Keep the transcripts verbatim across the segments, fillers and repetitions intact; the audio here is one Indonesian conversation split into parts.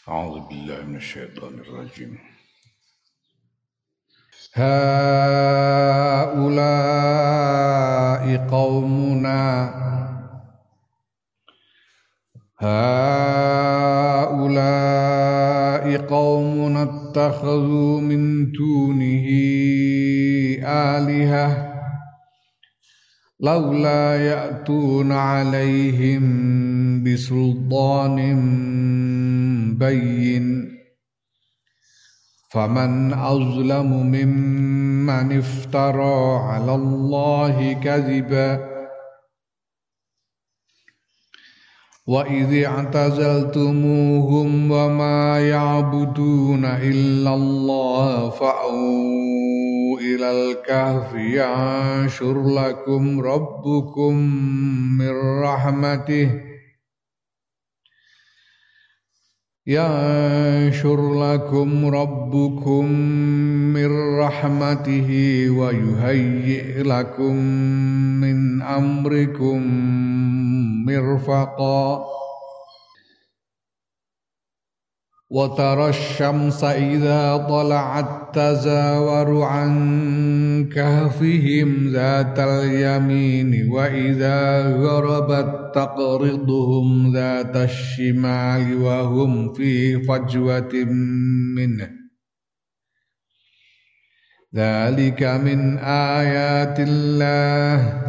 أعوذ بالله من الشيطان الرجيم. هؤلاء قومنا هؤلاء قومنا اتخذوا من دونه آلهة لولا يأتون عليهم بسلطان بين فمن أظلم ممن افترى على الله كذبا وإذ اعتزلتموهم وما يعبدون إلا الله فأووا إلى الكهف ينشر لكم ربكم من رحمته ينشر لكم ربكم من رحمته ويهيئ لكم من أمركم مرفقا وترى الشمس إذا طلعت تزاور عن كهفهم ذات اليمين وإذا غربت تقرضهم ذات الشمال وهم في فجوة منه ذلك من آيات الله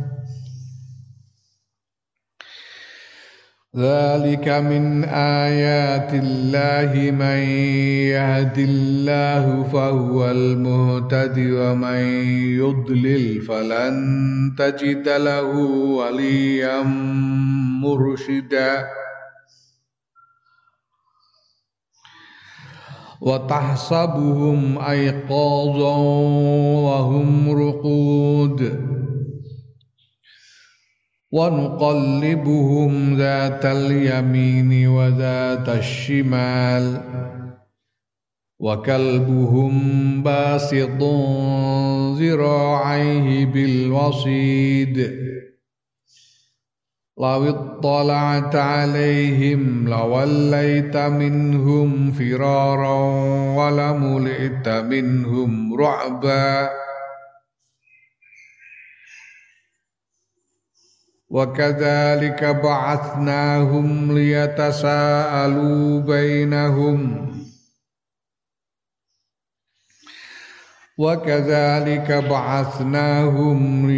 ذلك من آيات الله من يهد الله فهو المهتد ومن يضلل فلن تجد له وليا مرشدا وتحسبهم أيقاظا وهم رقود ونقلبهم ذات اليمين وذات الشمال وكلبهم باسط ذراعيه بالوصيد لو اطلعت عليهم لوليت منهم فرارا ولملئت منهم رعبا وكذلك بعثناهم ليتساءلوا بينهم وكذلك بعثناهم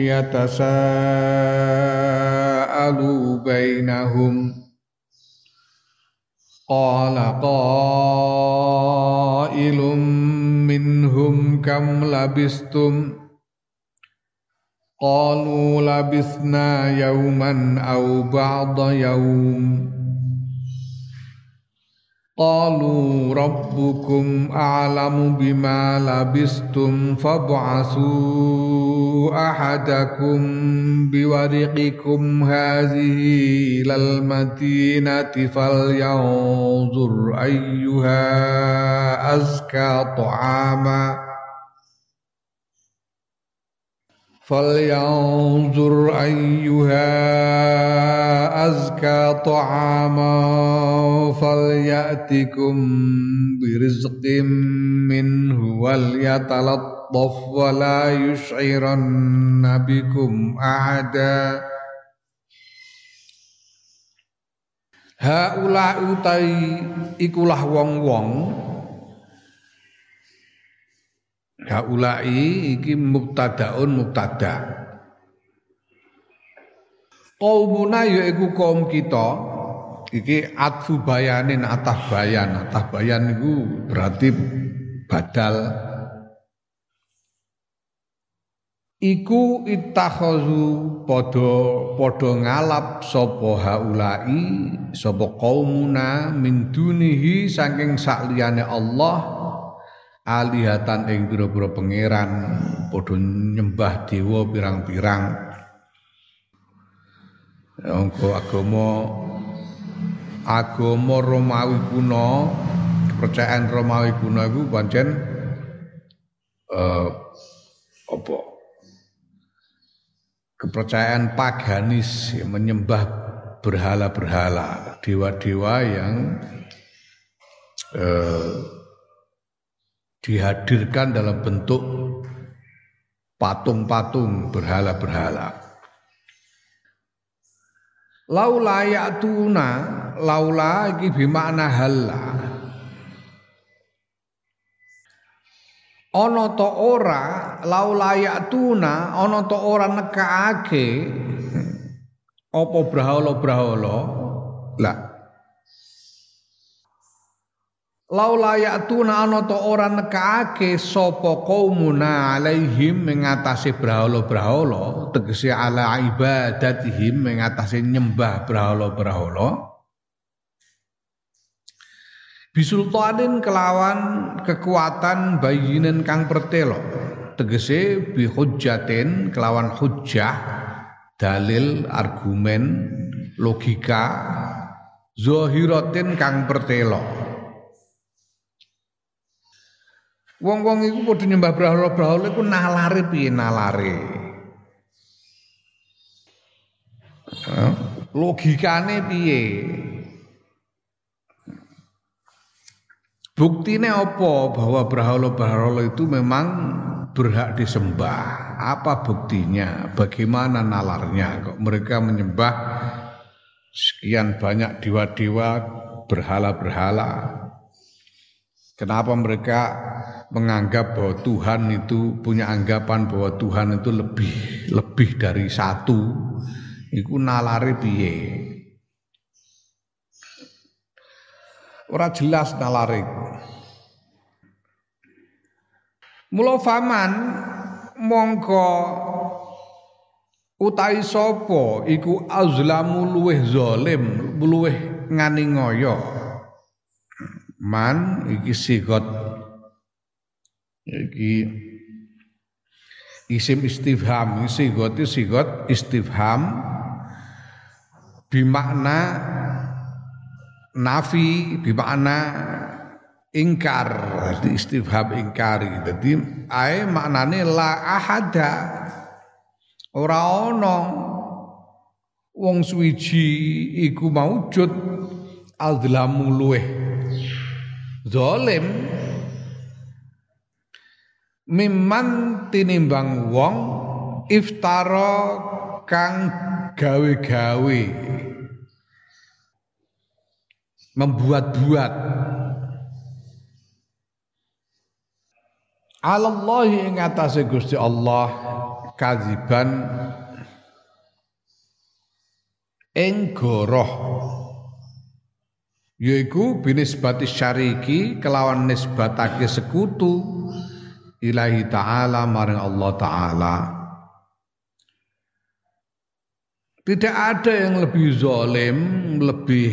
ليتساءلوا بينهم قال قائل منهم كم لبثتم قالوا لبثنا يوما أو بعض يوم قالوا ربكم أعلم بما لبثتم فابعثوا أحدكم بورقكم هذه إلى المدينة فلينظر أيها أزكى طعاما فلينظر أيها أزكى طعاما فليأتكم برزق منه وليتلطف ولا يشعرن بكم أحدا Haula utai ikulah wong-wong Haulai iki mubtadaun mubtada. Qaumuna yaiku kaum kita. Iki atfu bayanin atah bayan. Atah bayan iku berarti badal. Iku ittakhazu padha padha ngalap sapa haulai sapa qaumuna min dunihi saking sakliyane Allah. Alihatan ing pira-pira pangeran padha nyembah dewa pirang-pirang. Angko agama agama Romawi kuno, kepercayaan Romawi kuno iku pancen eh apa? Kepercayaan paganis menyembah berhala-berhala, dewa-dewa yang eh, dihadirkan dalam bentuk patung-patung berhala-berhala. Laula ya'tuna, laula iki bimakna halla. Ana ta ora, laula ya'tuna, ana ta ora nekaake apa brahala-brahala. Lah laula ya'tuna ana ta ora nekaake sapa qaumuna alaihim mengatasi brahala-brahala, tegese ala ibadatihim mengatasi nyembah brahala-brahala. Bisultanin kelawan kekuatan bayinin kang pertelo, tegese bi hujjatin kelawan hujjah, dalil, argumen, logika, zahiratin kang pertelo. Wong-wong iku padha nyembah brahala-brahala iku nalare piye nalare. Logikane piye? Buktine apa bahwa brahala-brahala itu memang berhak disembah? Apa buktinya? Bagaimana nalarnya? Kok mereka menyembah sekian banyak dewa-dewa, berhala-berhala? Kenapa mereka menganggap bahwa Tuhan itu punya anggapan bahwa Tuhan itu lebih lebih dari satu? Iku nalare piye? Ora jelas nalare. Mula faman mongko utahi sapa iku azlamu luweh zalim, luweh nganiaya. Man iki sigot iki isim istifham, sigot itu sigot istifham bimakna nafi, bimakna ingkar, di istifham ingkari. Jadi ae maknane la ahada, ora ana wong suwiji iku maujud azlamu luweh zalim mimman tinimbang wong iftara kang gawe-gawe membuat-buat alallahi ing atase Gusti Allah kadziban ing goroh, yaiku binisbati syariki kelawan nisbatake sekutu ilahi ta'ala maring Allah ta'ala. Tidak ada yang lebih zalim, lebih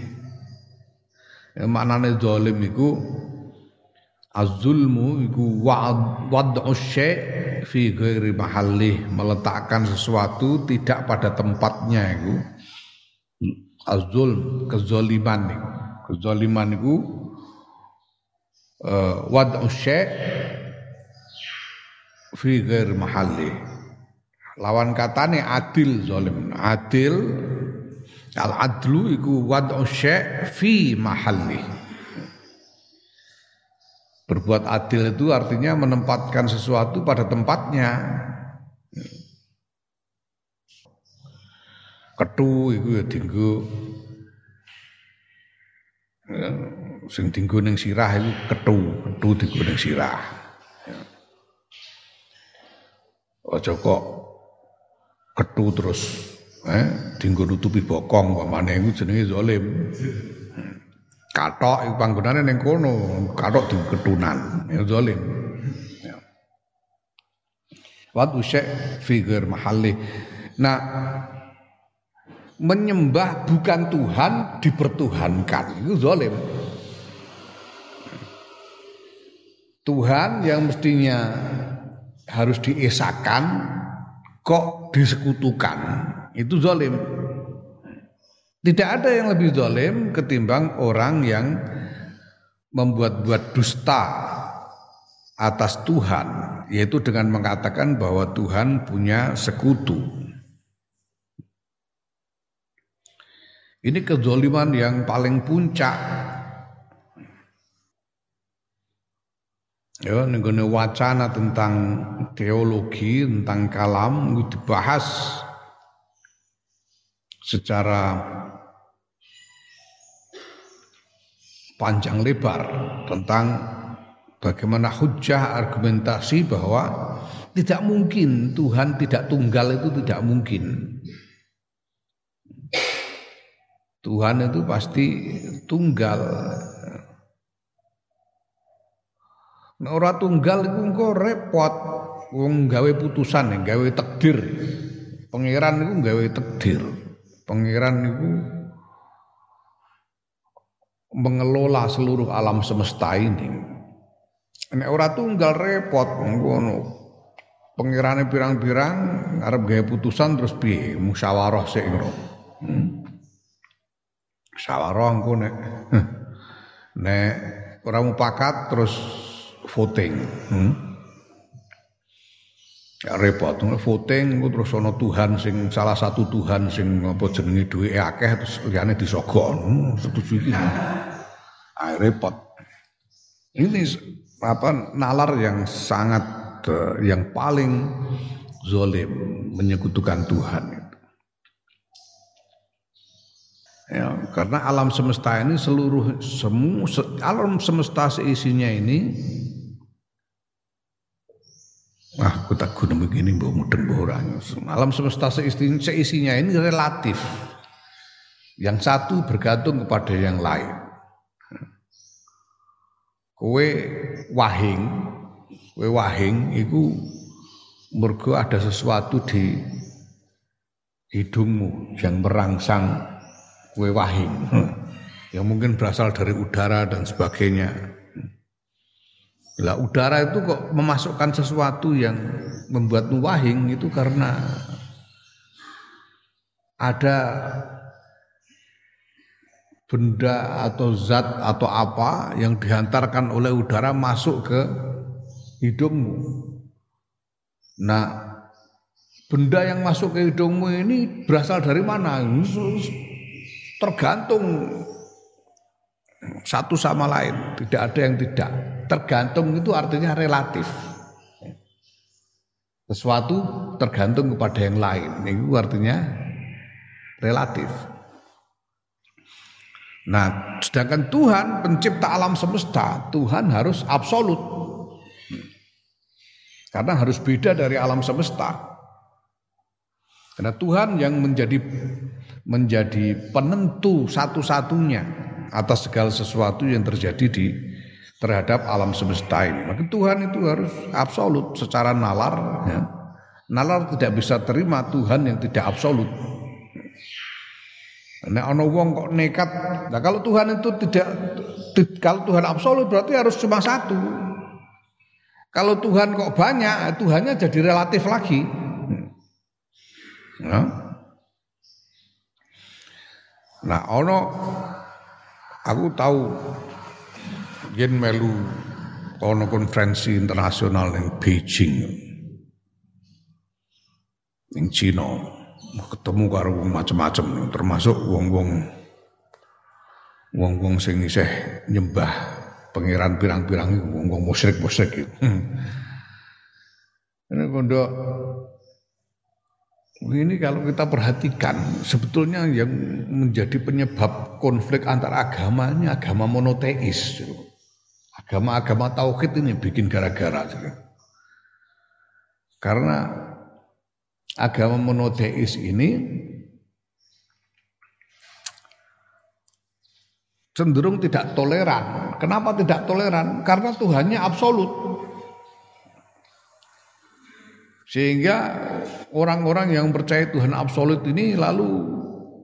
ya, maknane zalim iku az-zulmu iku wad'u syai' fi ghairi mahallih, meletakkan sesuatu tidak pada tempatnya iku. Az-zulm, kezaliman iku. Kezaliman iku uh, wad'u syai' fi ghairi mahallih. Lawan katane adil zalim. Adil al-adlu iku wad'u syai' fi mahallih. Berbuat adil itu artinya menempatkan sesuatu pada tempatnya. Kethu iku ya dienggo ya, sing dienggo ning sirah iku kethu, kethu dienggo ning sirah. Ya. Aja kok kethu terus eh dienggo nutupi bokong pamane iku jenenge zalim. Kathok iku panggonane ning kono, kathok diketunan, ya zalim. Ya. Wa usy' fi ghair mahalli. Nah, menyembah bukan Tuhan dipertuhankan itu zalim. Tuhan yang mestinya harus diesakan kok disekutukan, itu zalim. Tidak ada yang lebih zalim ketimbang orang yang membuat-buat dusta atas Tuhan, yaitu dengan mengatakan bahwa Tuhan punya sekutu. Ini kezaliman yang paling puncak. Ya, nenggone wacana tentang teologi, tentang kalam itu dibahas secara panjang lebar tentang bagaimana hujah argumentasi bahwa tidak mungkin Tuhan tidak tunggal itu tidak mungkin. Tuhan itu pasti tunggal. Nek ora tunggal iku engko repot wong gawe putusan, gawe takdir. Pangeran iku gawe takdir. Pangeran iku mengelola seluruh alam semesta ini. Nek ora tunggal repot ngono. Pangerane pirang-pirang arep gawe putusan terus piye? Musyawarah sik ngono. Hmm. Musyawarah engko nek nek ora mupakat terus voting. Hmm. Ya repot, voting terus ana Tuhan sing salah satu Tuhan sing apa jenenge duweke akeh terus liyane disogok. Hmm, setuju iki. Ah repot. Ini apa nalar yang sangat uh, yang paling zalim menyekutukan Tuhan itu. Ya, karena alam semesta ini seluruh semua se, alam semesta seisinya ini ah, aku tak guna begini mbok mudeng mbok ora. Alam semesta seisinya, seisinya ini relatif. Yang satu bergantung kepada yang lain. Kowe wahing, kowe wahing iku mergo ada sesuatu di hidungmu yang merangsang kowe wahing. Yang mungkin berasal dari udara dan sebagainya. Lah udara itu kok memasukkan sesuatu yang membuatmu wahing itu karena ada benda atau zat atau apa yang dihantarkan oleh udara masuk ke hidungmu. Nah, benda yang masuk ke hidungmu ini berasal dari mana? Tergantung satu sama lain, tidak ada yang tidak. Tergantung itu artinya relatif. Sesuatu tergantung kepada yang lain, itu artinya relatif. Nah, sedangkan Tuhan pencipta alam semesta, Tuhan harus absolut. Karena harus beda dari alam semesta. Karena Tuhan yang menjadi menjadi penentu satu-satunya atas segala sesuatu yang terjadi di terhadap alam semesta ini. Maka Tuhan itu harus absolut secara nalar. Ya. Nalar tidak bisa terima Tuhan yang tidak absolut. Nek ana wong kok nekat, nah kalau Tuhan itu tidak, kalau Tuhan absolut berarti harus cuma satu. Kalau Tuhan kok banyak, Tuhannya jadi relatif lagi. Nah, nah ono, aku tahu, yen melu ono konferensi internasional yang Beijing, yang Cina. Ketemu karo wong macam-macam termasuk wong-wong wong-wong sing isih nyembah pangeran pirang-pirang iku wong-wong musyrik-musyrik iku. Ini kondo ini kalau kita perhatikan sebetulnya yang menjadi penyebab konflik antar agamanya agama monoteis. Agama-agama tauhid ini bikin gara-gara. Karena agama monoteis ini cenderung tidak toleran. Kenapa tidak toleran? Karena Tuhannya absolut. Sehingga orang-orang yang percaya Tuhan absolut ini lalu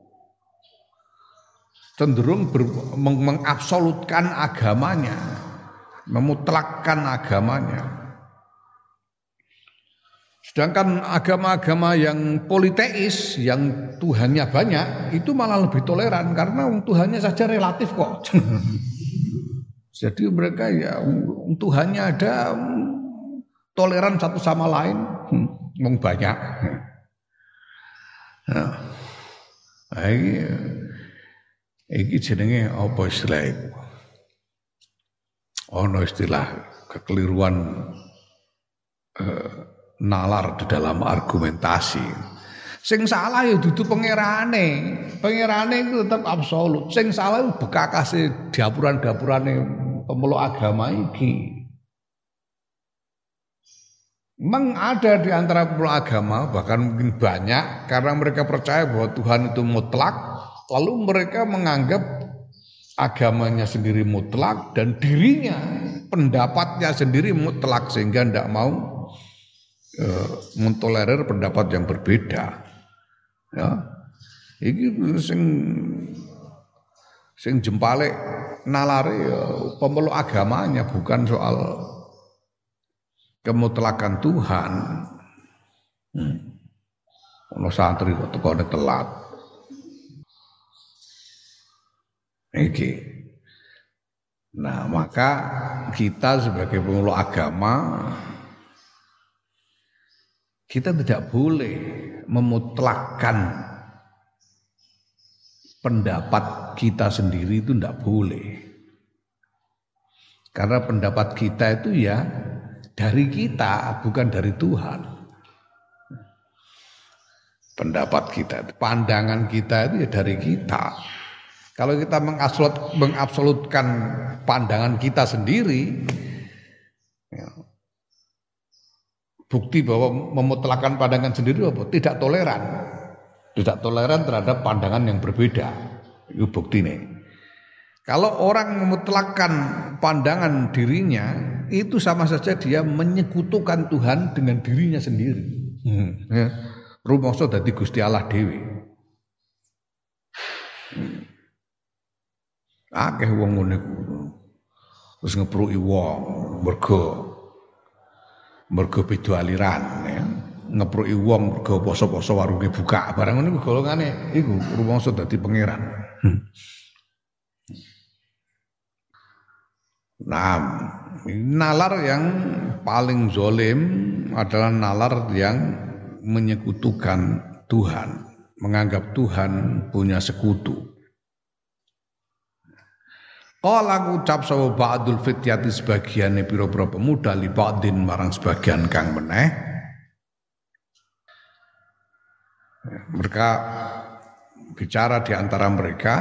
cenderung ber, meng, mengabsolutkan agamanya, memutlakkan agamanya. Sedangkan agama-agama yang politeis, yang Tuhannya banyak, itu malah lebih toleran karena Tuhannya saja relatif kok. Jadi mereka ya Tuhannya ada toleran satu sama lain, hmm, banyak. Nah, ini, ini jenenge apa istilahnya? ono istilah kekeliruan eh, nalar di dalam argumentasi. Sing salah ya dudu pangerane. Pangerane itu tetap absolut. Sing salah itu bekakase dapuran-dapurane pemeluk agama iki. Memang ada di antara pemeluk agama, bahkan mungkin banyak, karena mereka percaya bahwa Tuhan itu mutlak, lalu mereka menganggap agamanya sendiri mutlak dan dirinya, pendapatnya sendiri mutlak, sehingga tidak mau e, mentolerir pendapat yang berbeda. Ya, ini sing sing jempale nalare ya, pemeluk agamanya, bukan soal kemutlakan Tuhan. Hmm. Ono santri kok tekone telat. Iki. Nah, maka kita sebagai pemeluk agama kita tidak boleh memutlakkan pendapat kita sendiri, itu tidak boleh. Karena pendapat kita itu ya dari kita, bukan dari Tuhan. Pendapat kita, pandangan kita itu ya dari kita. Kalau kita mengabsolut, mengabsolutkan pandangan kita sendiri, ya, bukti bahwa memutlakkan pandangan sendiri apa? Tidak toleran. Tidak toleran terhadap pandangan yang berbeda. Itu bukti nih. Kalau orang memutlakkan pandangan dirinya, itu sama saja dia menyekutukan Tuhan dengan dirinya sendiri. Hmm, ya. Rumangsa dadi Gusti Allah dhewe. Hmm. Akeh wong ngene kuwi. Terus ngepruki wong mergo mergo beda aliran ya. Ngepruki wong mergo poso-poso warunge buka. Barang ngene golongane iku rumangsa dadi pangeran. Hmm. Nah, nalar yang paling zalim adalah nalar yang menyekutukan Tuhan, menganggap Tuhan punya sekutu. Qala ngucap sapa ba'dul fityati sebagiane pira-pira pemuda li ba'din marang sebagian kang meneh. Mereka bicara di antara mereka,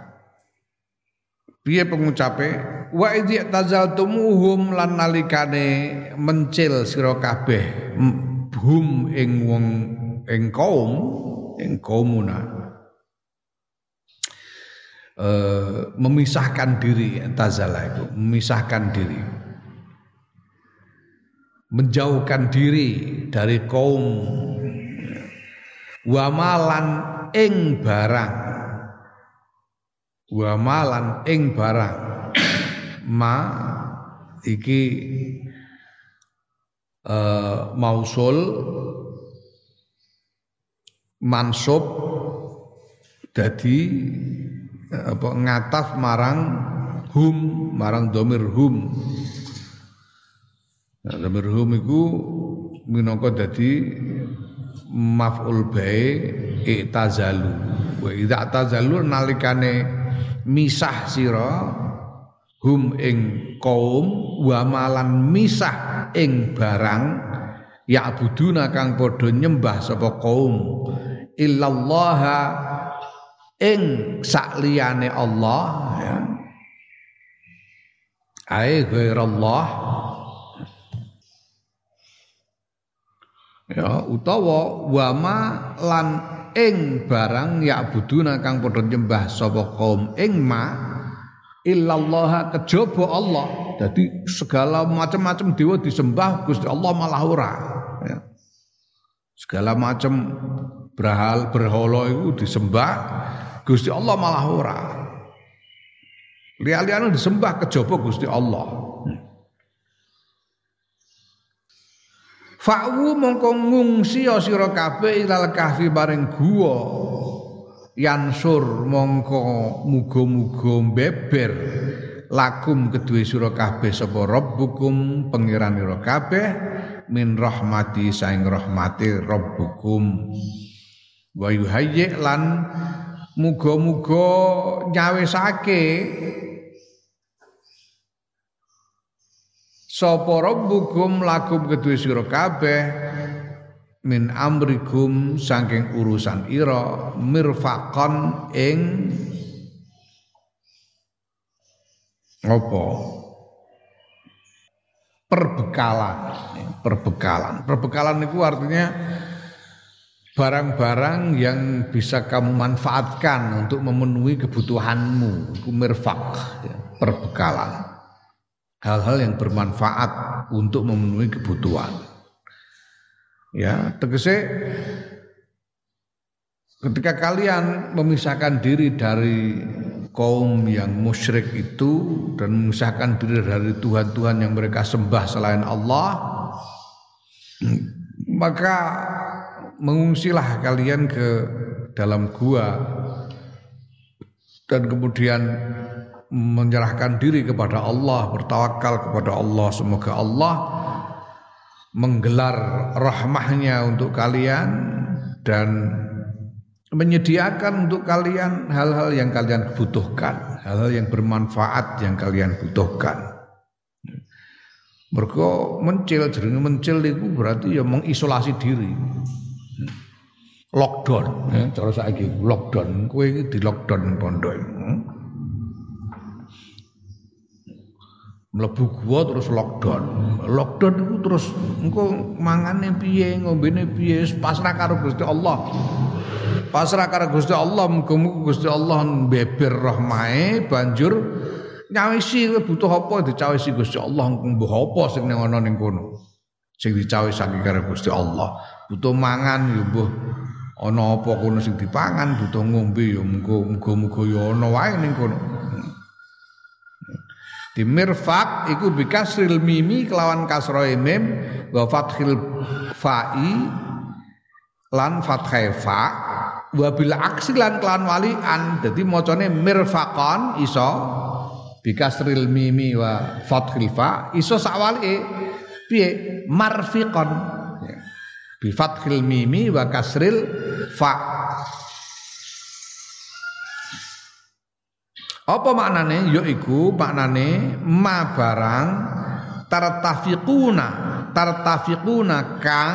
piye pengucape, wa idh tazaltumuhum lan nalikane mencil sira kabeh hum ing wong ing kaum ing kaumuna. Uh, memisahkan diri, tazala itu memisahkan diri, menjauhkan diri dari kaum, wamalan ing barang, wamalan ing barang, ma iki uh, mausul mansub dadi apa ngataf marang hum marang domir hum. Nah, domir hum iku minangka dadi maf'ul bae i'tazalu. Wa idza tazalu nalikane misah sira hum ing kaum wa malan misah ing barang ya'buduna kang padha nyembah sapa kaum illallaha ing sakliyane Allah ya. Ai ghairallah ya utawa wama lan ing barang ya buduna kang padha nyembah sapa kaum ing ma illallah kejaba Allah. Jadi segala macam-macam dewa disembah Gusti Allah malah ora ya. Segala macam berhal berhala itu disembah Gusti Allah malah ora. Liya-liyane disembah kejaba Gusti Allah. Fa'u mongko ngungsi sira kabeh ilal kahfi bareng guwa. Yansur mongko muga-muga beber lakum kedue sira kabeh sapa rabbukum pangeranira kabeh min rahmati saing rahmati rabbukum. Wa yuhayyi lan muga-muga nyawisake sapa rabbukum lakum kedue sira kabeh min amrikum saking urusan ira mirfaqan ing apa perbekalan perbekalan perbekalan itu artinya barang-barang yang bisa kamu manfaatkan untuk memenuhi kebutuhanmu itu mirfaq ya, perbekalan hal-hal yang bermanfaat untuk memenuhi kebutuhan. Ya, tegese ketika kalian memisahkan diri dari kaum yang musyrik itu dan memisahkan diri dari Tuhan-Tuhan yang mereka sembah selain Allah, maka mengungsilah kalian ke dalam gua dan kemudian menyerahkan diri kepada Allah, bertawakal kepada Allah. Semoga Allah menggelar rahmahnya untuk kalian dan menyediakan untuk kalian hal-hal yang kalian butuhkan, hal-hal yang bermanfaat yang kalian butuhkan. Mergo mencil, jenenge mencil itu berarti ya mengisolasi diri. Lockdown, ya, cara saiki lockdown, kowe iki di lockdown pondok. Mlebu gua terus lockdown. Lockdown itu terus engko mangane piye, ngombene piye, pasrah karo Gusti Allah. Pasrah karo Gusti Allah, muga-muga Gusti Allah beber rahmahe banjur nyawisi kowe butuh apa dicawisi Gusti Allah, mbuh apa sing ana ning kono. Sing dicawisake karo Gusti Allah. Butuh mangan ya mbuh ana apa kono sing dipangan, butuh ngombe ya muga-muga ya ana wae ning kono. Di mirfaq iku bikasril mimi kelawan kasroe mim wa fathil fa'i lan fathai fa wa bil aksi lan kelawan walian dadi macane mirfaqan iso bikasril mimi wa fathil fa iso sakwalike piye marfiqan bi fathil mimi wa kasril fa. Apa maknane? Yaiku maknane ma barang tartafiquna tartafiquna kang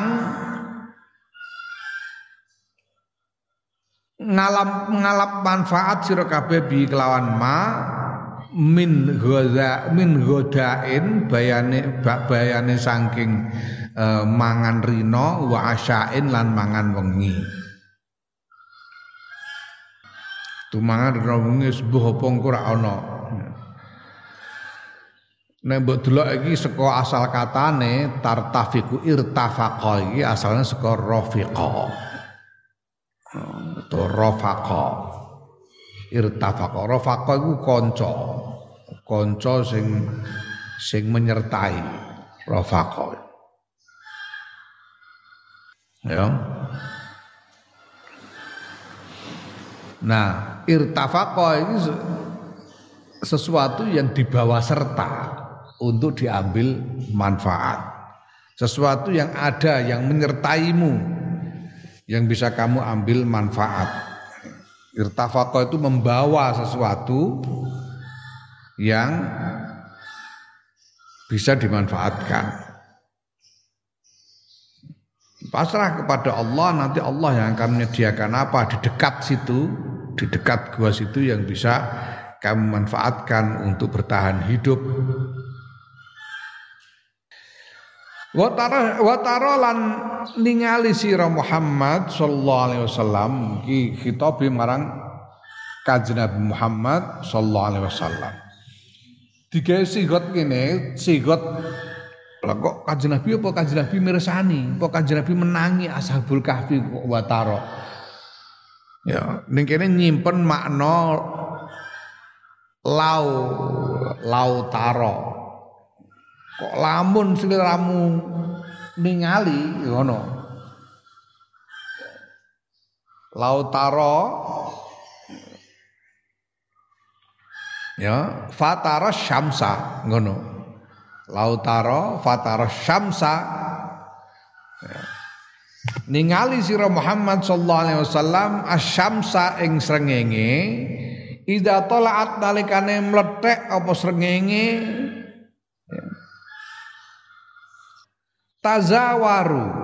ngalam ngalap manfaat sira kabeh bi kelawan ma min ghaza min godain bayane bayane saking uh, mangan rino wa asyain lan mangan wengi. Tumangan rino wengi sebuah apa engko ra ana. Nek mbok delok iki saka asal katane tartafiku irtafaqa iki asalnya saka rafiqa. Atau rafaqa. Irtafaqa. Rafaqa iku kanca. Kanca sing sing menyertai. Rafaqa. Ya. Nah, irtafaqa ini sesuatu yang dibawa serta untuk diambil manfaat. Sesuatu yang ada yang menyertaimu yang bisa kamu ambil manfaat. Irtafaqa itu membawa sesuatu yang bisa dimanfaatkan. Pasrah kepada Allah, nanti Allah yang akan menyediakan apa di dekat situ, di dekat gua situ yang bisa kamu manfaatkan untuk bertahan hidup. Watara watara lan ningali sira Muhammad sallallahu alaihi wasallam iki khitab marang Kanjeng Nabi Muhammad sallallahu alaihi wasallam. Digawe sigot kene, sigot lah kok Kanjeng Nabi apa Kanjeng Nabi mirsani, apa Kanjeng Nabi menangi Ashabul Kahfi kok watara. Ya, ning kene nyimpen makna lau lautara. Kok lamun sliramu ningali ngono. Lautara ya fatara syamsa ngono. Lautara fatara syamsa ya. Ningali sira Muhammad sallallahu alaihi wasallam asyamsa ing srengenge idza talaat nalikane mlethek apa srengenge ya. tazawaru.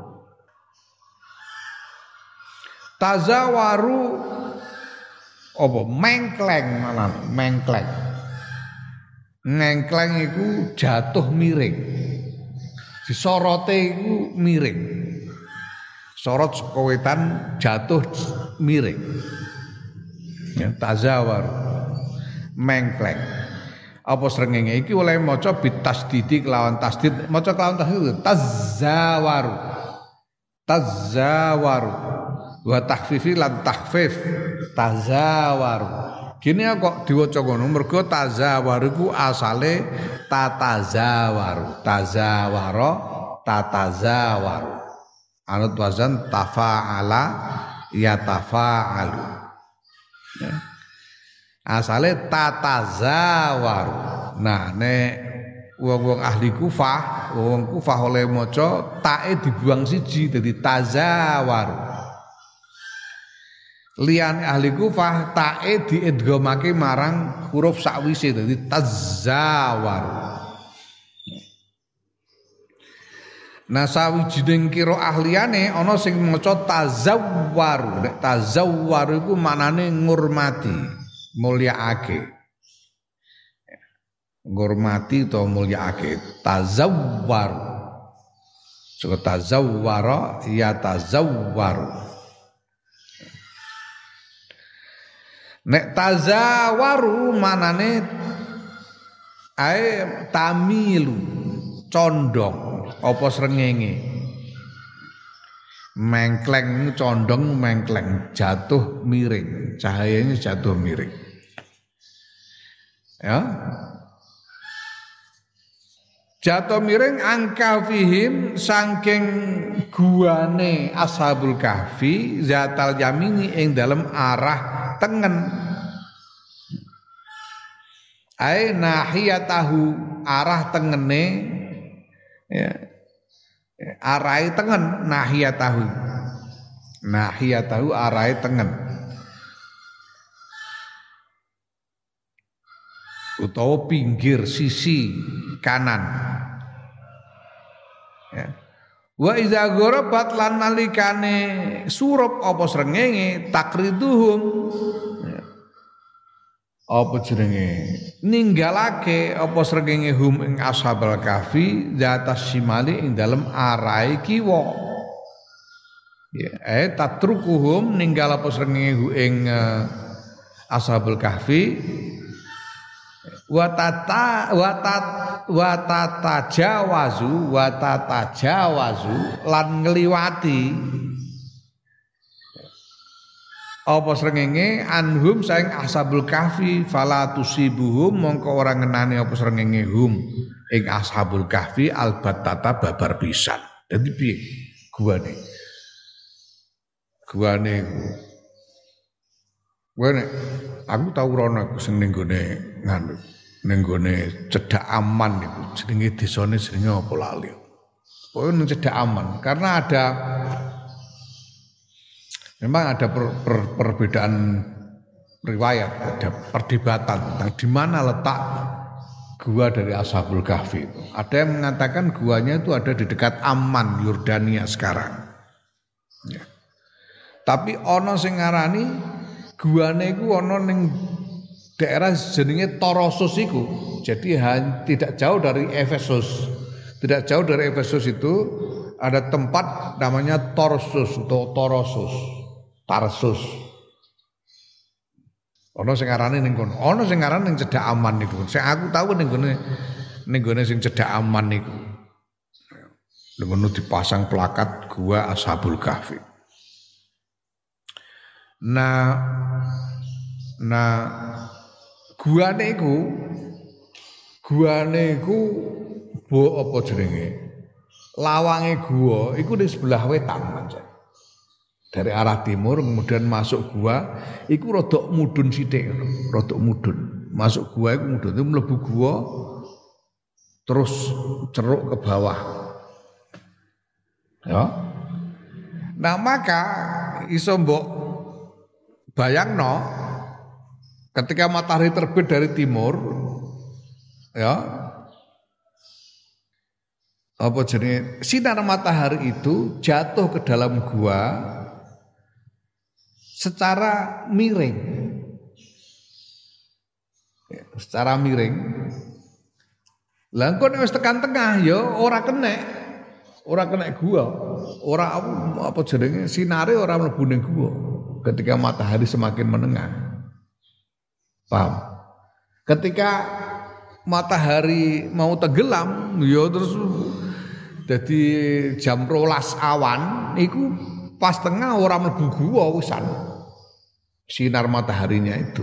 Tazawaru apa mengkleng malah mengkleng. Ngengkleng iku jatuh miring. Disorote iku miring. Sorot saka wetan jatuh miring. Ya, tazawaru mengkleng. Apa srengenge iki oleh maca bitasdidi kelawan tasdid, maca kelawan tasdid tazawaru. Tazawaru. Wa takhfifi lan takhfif tazawaru. Gini kok diwaca ngono mergo tazawaru iku asale tatazawaru. Tazawara tatazawaru. Anut wazan tafa'ala yatafa'alu. Ya. Asale tatazawaru. Nah nek wong-wong ahli Kufah, wong Kufah oleh maca tae dibuang siji dadi tazawaru. Lian ahli Kufah tae diidghamake marang huruf sakwise dadi tazawaru. Nah sawijining qiraah liyane ana sing maca tazawwaru. Nek tazawwaru iku maknane ngurmati, mulyaake. Ngurmati utawa mulyaake, tazawwaru. Saka tazawwara ya tazawwaru. Nek tazawaru manane ae tamilu condong apa srengenge mengkleng condong mengkleng jatuh miring cahayanya jatuh miring ya jatuh miring angka fihim saking guane ashabul kahfi zatal yamini ing dalem arah tengen ai nahiyatahu arah tengene ya arai tengen nahiyatahu nahiyatahu arai tengen utawa pinggir sisi kanan ya wa iza gharabat lan nalikane surup apa srengenge takriduhum ya. Apa jenenge ninggalake apa srengenge hum ing ashabul kahfi zatas simali ing dalem arahe kiwa ya eh tatrukuhum ninggal apa srengenge ing uh, ashabul kahfi wa tata wa tat wa tatajawazu wa tatajawazu lan ngliwati apa srengenge anhum saing ashabul kahfi fala tusibuhum mongko ora ngenani apa srengenge hum ing ashabul kahfi albatata babar pisan. Dadi piye guane guane guane aku tau rono aku sing ning gone nganu ning gone Cedhak Aman niku jenenge desane jenenge apa lali. Pokoke ning Cedhak Aman karena ada memang ada per, per, perbedaan riwayat, ada perdebatan tentang di mana letak gua dari Ashabul Kahfi itu. Ada yang mengatakan guanya itu ada di dekat Amman, Yordania sekarang. Ya. Tapi ono sing ngarani guane iku ono ning daerah jenenge Torosus iku. Jadi tidak jauh dari Efesus. Tidak jauh dari Efesus itu ada tempat namanya Tarsus atau Torosus. Tarsus. Ono sing arane ning kono. Ono sing arane ning Cedhak Aman niku. Sing aku tahu ning gone ning gone sing Cedhak Aman niku. Ning kono dipasang plakat gua Ashabul Kahfi. Nah nah guane iku guane iku bo apa jenenge? Lawange gua iku di sebelah wetan pancen. Dari arah timur kemudian masuk gua iku rodok mudhun sithik rodok mudhun masuk gua iku mudhun itu mlebu gua terus ceruk ke bawah ya nah maka iso mbok bayangno ketika matahari terbit dari timur ya apa jenenge sinar matahari itu jatuh ke dalam gua secara miring. Ya, secara miring. Lah engko nek wis tekan tengah ya ora kena. Ora kena gua. Ora apa jenenge sinare ora mlebu ning gua ketika matahari semakin menengah. Paham? Ketika matahari mau tenggelam ya terus jadi jam rolas awan iku pas tengah ora mlebu gua wisan sinar mataharinya itu.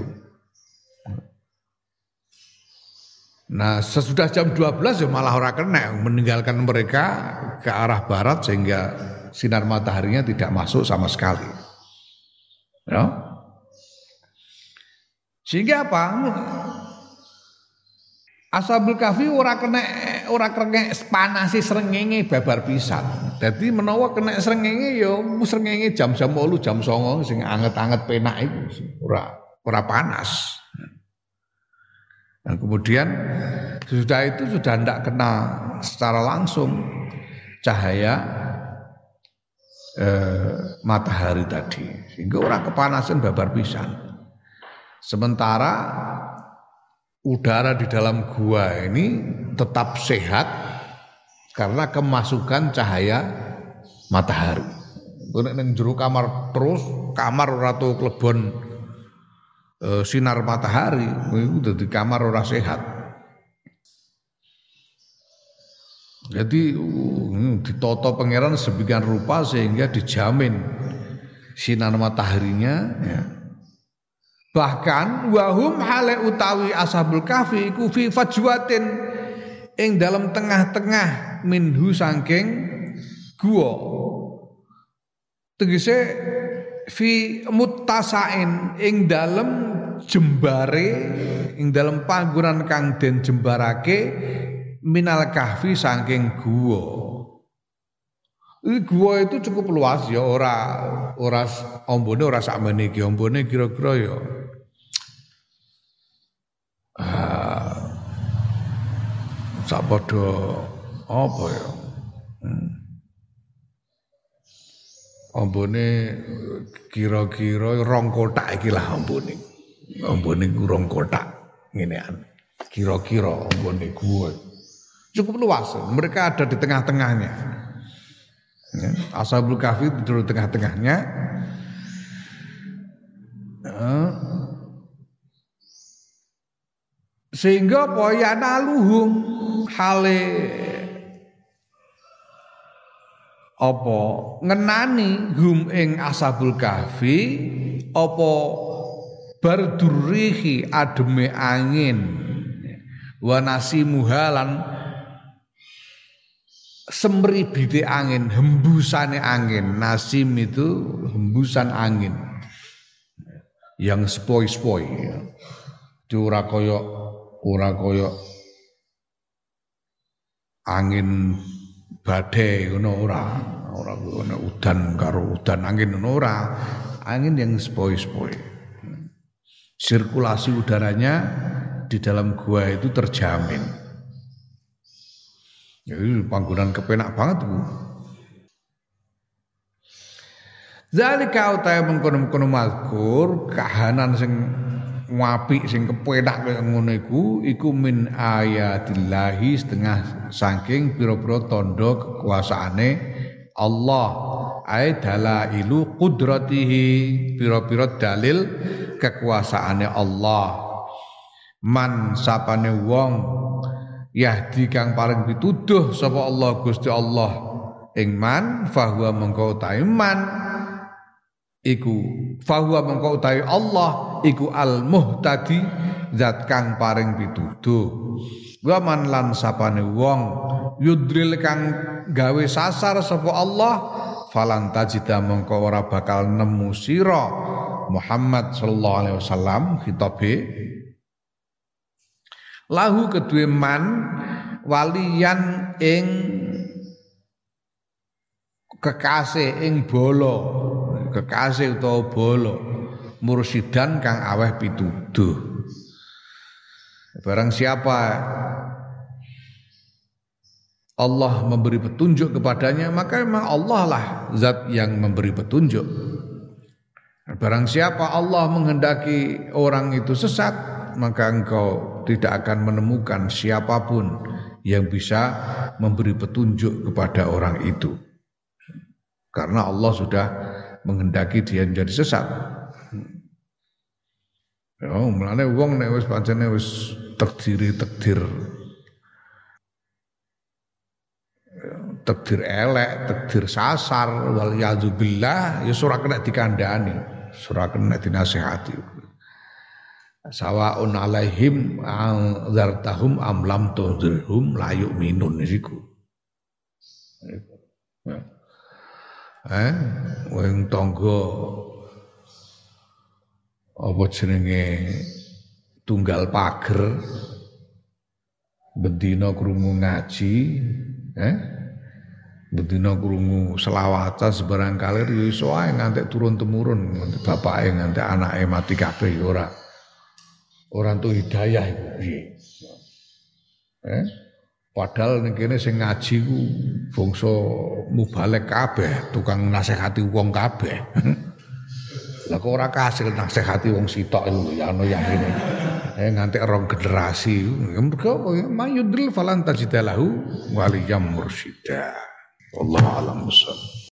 Nah sesudah jam dua belas ya malah ora kena, meninggalkan mereka ke arah barat sehingga sinar mataharinya tidak masuk sama sekali. Ya. Sehingga apa? Ashabul Kahfi ora kena ora kena panasi srengenge babar pisan. Dadi menawa kena srengenge ya srengenge jam-jam wolu jam songo sing anget-anget penak iku ora ora panas. Nah, kemudian sudah itu sudah tidak kena secara langsung cahaya eh, matahari tadi sehingga orang kepanasan babar pisan. Sementara udara di dalam gua ini tetap sehat karena kemasukan cahaya matahari. Nek ning jero kamar terus kamar ora tau klebon e, sinar matahari, iku dadi kamar ora sehat. Jadi uh, ditata pangeran sedemikian rupa sehingga dijamin sinar mataharinya ya. Bahkan wahum hale utawi ashabul kahfi iku fi fajwatin ing dalam tengah-tengah minhu saking gua. Tegese fi muttasain ing dalam jembare ing dalam panggonan kang den jembarake minal kahfi saking gua. Ini gua itu cukup luas ya, ora ora ombone ora sakmene iki, ombone kira-kira ya ah sak padha apa ya? Hmm. Ombone kira-kira rong kotak iki lah ombone. Ombone ku rong kotak ngenean. Kira-kira ombone gua. Cukup luas, mereka ada di tengah-tengahnya. Ya, Ashabul Kahfi di tengah-tengahnya. Ya. Sehingga poyana luhum hale apa ngenani hum ing Ashabul Kahfi apa bardurrihi ademe angin wa nasimuha lan semribite angin, hembusane angin. Nasim itu hembusan angin yang spoi-spoi. Ora kaya ora kaya angin badai ngono ora. Ora ngono udan karo udan angin ngono ora. Angin yang spoi-spoi. Sirkulasi udaranya di dalam gua itu terjamin. Jadi panggonan kepenak banget Bu. Zalika utahe mengkono-mengkono mazkur kahanan sing apik sing kepenak kaya ngono iku iku min ayatillahi setengah saking pira-pira tandha kekuasaane Allah. Ai dalailu qudratihi pira-pira dalil kekuasaane Allah. Man sapane wong yahdi kang paring pituduh sapa Allah Gusti Allah ing man fahuwa mengko utahe man iku fahuwa mengko utahe Allah iku al muhtadi zat kang paring pituduh wa man lan sapane wong yudril kang gawe sasar sapa Allah falan tajida mengko ora bakal nemu sira Muhammad sallallahu alaihi wasallam khitabe lahu kedue man waliyan ing kekasih ing bala kekasih utawa bala mursidan kang aweh pituduh. Barang siapa Allah memberi petunjuk kepadanya, maka memang Allah lah zat yang memberi petunjuk. Barang siapa Allah menghendaki orang itu sesat, maka engkau tidak akan menemukan siapapun yang bisa memberi petunjuk kepada orang itu. Karena Allah sudah menghendaki dia menjadi sesat. Ya, mulane wong nek wis pancene wis takdiri takdir takdir elek, takdir sasar, wal yadzubillah, ya ora kena dikandani, ora kena dinasihati. Sawaun alaihim anzartahum am lam tunzirhum la yu'minun niku. Eh, wong tangga apa jenenge tunggal pager bendina krungu ngaji, eh bedina krungu selawatan sebarang kalir ya iso ae ngantek turun temurun, nganti bapake nganti anake mati kabeh ya ora. Ora entuk hidayah iku piye. Eh? Padahal ning kene sing ngaji ku bangsa mubalek kabeh, tukang nasihati wong kabeh. Lah kok ora kasil nasihati wong sitok iku ya ana yang ngene. Eh nganti rong generasi. Mergo mayudril falan tajidalahu waliyam mursyida. Wallahu a'lam bissawab.